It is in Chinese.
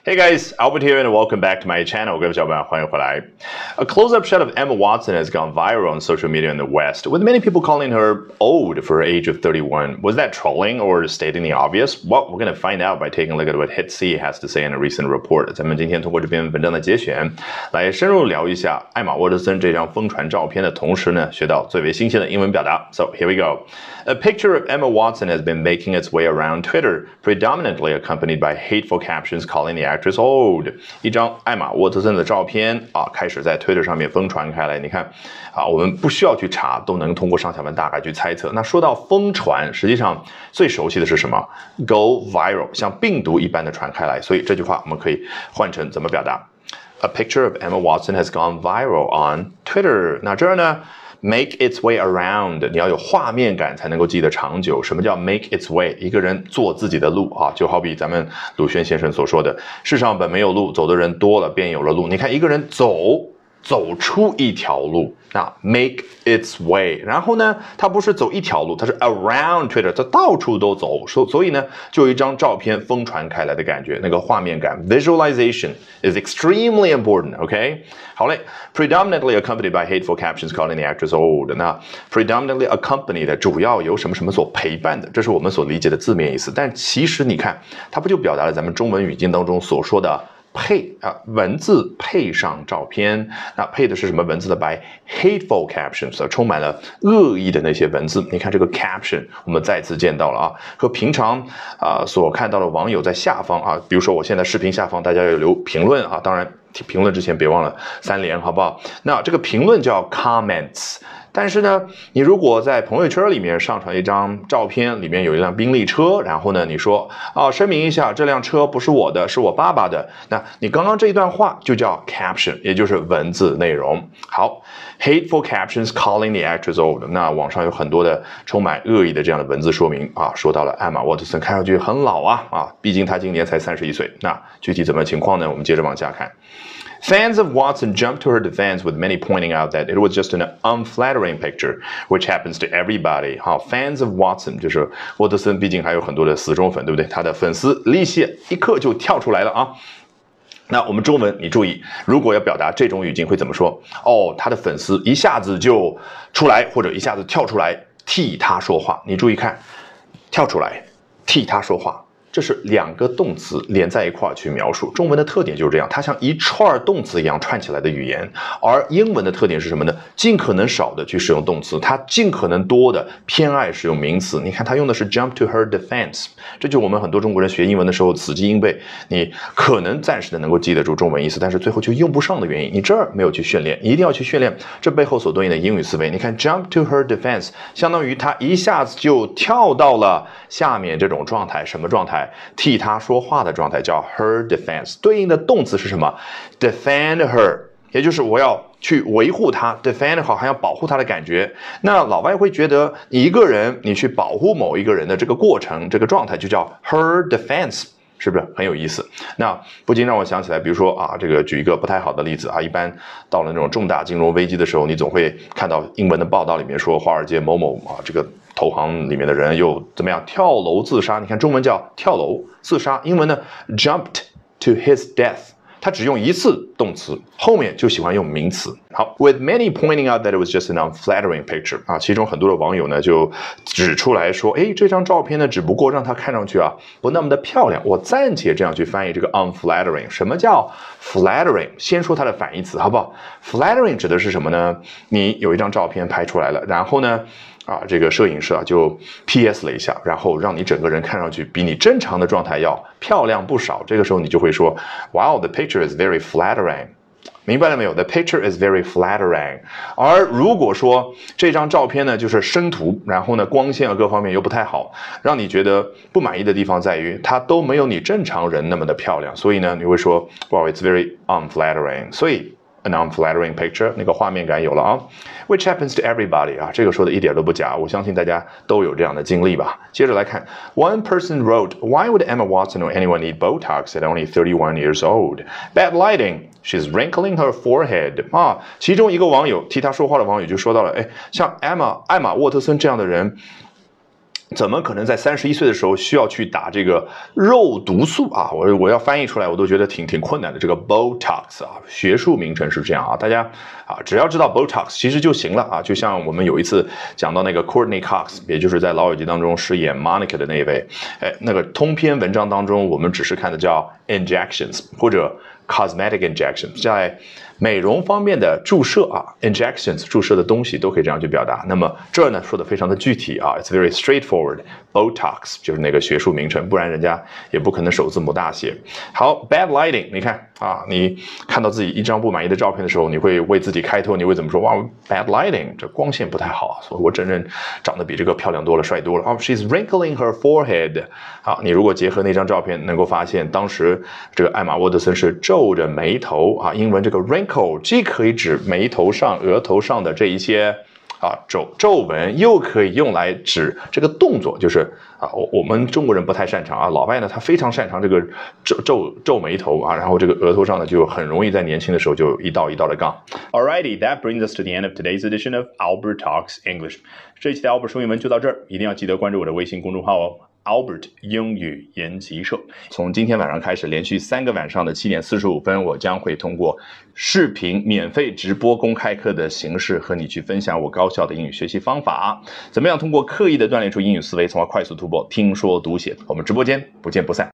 Hey guys, Albert here and welcome back to my channel. 各位小伙伴，欢迎回来。A close-up shot of Emma Watson has gone viral on social media in the West, with many people calling her old for her age of 31. Was that trolling or stating the obvious? Well, we're going to find out by taking a look at what Hit C has to say in a recent report. 咱们今天通过这篇文章的节选，来深入聊一下艾玛沃特森这张疯传照片的同时呢，学到最为新鲜的英文表达。So here we go. A picture of Emma Watson has been making its way around Twitter, predominantly accompanied by hateful captions calling the actress old. 一张艾玛沃特森的照片啊，开始在 Twitter 上面疯传开来。你看啊，我们不需要去查，都能通过上下文大概去猜测。那说到疯传，实际上最熟悉的是什么 ？Go viral， 像病毒一般的传开来。所以这句话我们可以换成怎么表达 ？A picture of Emma Watson has gone viral on Twitter。那这儿呢？ Make its way around， 你要有画面感才能够记得长久。什么叫 make its way？ 一个人做自己的路啊，就好比咱们鲁迅先生所说的“世上本没有路，走的人多了，便有了路”。你看一个人走出一条路，那 make its way， 然后呢，他不是走一条路，他是 around Twitter， 他到处都走，所以呢，就有一张照片疯传开来的感觉，那个画面感 visualization is extremely important，OK？ 好嘞 ，predominantly accompanied by hateful captions calling the actress old。那 predominantly accompanied 的主要由什么什么所陪伴的，这是我们所理解的字面意思，但其实你看，它不就表达了咱们中文语境当中所说的？ 配啊，文字配上照片，那配的是什么文字的 ？by hateful captions， 充满了恶意的那些文字。你看这个 caption， 我们再次见到了啊，和平常所看到的网友在下方啊，比如说我现在视频下方大家要留评论啊，当然评论之前别忘了3连，好不好？那这个评论叫 comments。 但是呢，你如果在朋友圈里面上传一张照片，里面有一辆宾利车，然后呢，你说啊，声明一下，这辆车不是我的，是我爸爸的。那你刚刚这一段话就叫 caption， 也就是文字内容。好 ，hateful captions calling the actress old。那网上有很多的充满恶意的这样的文字说明啊，说到了艾玛沃特森看上去很老啊，毕竟她今年才31岁。那具体怎么情况呢？我们接着往下看。 Fans of Watson jumped to her defense, with many pointing out that it was just an unflattering picture, which happens to everybody. 好 ，fans of Watson 就是沃特森，毕竟还有很多的死忠粉，对不对？他的粉丝立刻就跳出来了啊。那我们中文，你注意，如果要表达这种语境会怎么说？哦，他的粉丝一下子就出来，或者一下子跳出来替他说话。你注意看，跳出来替他说话。 这是2个动词连在一块儿去描述，中文的特点就是这样，它像一串动词一样串起来的语言。而英文的特点是什么呢？尽可能少的去使用动词，它尽可能多的偏爱使用名词。你看，它用的是 jump to her defense， 这就是我们很多中国人学英文的时候死记硬背，你可能暂时的能够记得住中文意思，但是最后就用不上的原因。你这儿没有去训练，你一定要去训练这背后所对应的英语思维。你看 jump to her defense， 相当于他一下子就跳到了下面这种状态，什么状态？ 替他说话的状态叫 her defense， 对应的动词是什么 ？defend her， 也就是我要去维护她 ，defend 好，还要保护她的感觉。那老外会觉得你一个人，你去保护某一个人的这个过程、这个状态就叫 her defense。 是不是很有意思？那不禁让我想起来，比如说啊，这个举一个不太好的例子啊，一般到了那种重大金融危机的时候，你总会看到英文的报道里面说，华尔街某某啊，这个投行里面的人又怎么样跳楼自杀？你看中文叫跳楼自杀，英文呢 jumped to his death。 它只用一次动词，后面就喜欢用名词。好 ，with many pointing out that it was just an unflattering picture 啊，其中很多的网友呢就指出来说，哎，这张照片呢只不过让它看上去啊不那么的漂亮。我暂且这样去翻译这个 unflattering。什么叫 flattering？ 先说它的反义词，好不好 ？flattering 指的是什么呢？你有一张照片拍出来了，然后呢？ 啊，这个摄影师啊就 PS 了一下，然后让你整个人看上去比你正常的状态要漂亮不少。这个时候你就会说 ，Wow, the picture is very flattering。明白了没有 ？The picture is very flattering。而如果说这张照片呢就是生图，然后呢光线啊各方面又不太好，让你觉得不满意的地方在于它都没有你正常人那么的漂亮，所以呢你会说 ，Wow, it's very unflattering。所以 an unflattering picture， 那个画面感有了啊 ，which happens to everybody 啊，这个说的一点都不假，我相信大家都有这样的经历吧。接着来看 ，one person wrote, "Why would Emma Watson or anyone need Botox at only 31 years old? Bad lighting. She's wrinkling her forehead." 啊，其中一个网友替他说话的网友就说到了，哎，像艾玛沃特森这样的人。 怎么可能在31岁的时候需要去打这个肉毒素啊？我要翻译出来，我都觉得挺困难的。这个 Botox 啊，学术名称是这样啊，大家啊只要知道 Botox 其实就行了啊。就像我们有一次讲到那个 Courtney Cox， 也就是在《老友记》当中饰演 Monica 的那一位，那个通篇文章当中，我们只是看的叫 injections 或者 cosmetic injections， 在美容方面的注射啊 ，injections 注射的东西都可以这样去表达。那么这儿呢说的非常的具体啊 ，it's very straightforward。Botox 就是那个学术名称，不然人家也不可能首字母大写。好 ，bad lighting， 你看啊，你看到自己一张不满意的照片的时候，你会为自己开脱，你会怎么说？哇 ，bad lighting， 这光线不太好，所以我真正长得比这个漂亮多了，帅多了。she's wrinkling her forehead。好，你如果结合那张照片，能够发现当时这个艾玛沃德森是皱着眉头啊，英文这个 wrinkle 既可以指眉头上、额头上的这一些皱纹，又可以用来指这个动作，就是啊，我们中国人不太擅长啊，老外呢他非常擅长这个皱眉头啊，然后这个额头上呢就很容易在年轻的时候就一道一道的杠。Alrighty, that brings us to the end of today's edition of Albert Talks English。这一期的 Albert 说英文就到这儿，一定要记得关注我的微信公众号哦。Albert 英语研习社，从今天晚上开始，连续3个晚上的7点45分，我将会通过视频免费直播公开课的形式和你去分享我高效的英语学习方法，怎么样通过刻意的锻炼出英语思维，从而快速突破听说读写。我们直播间不见不散。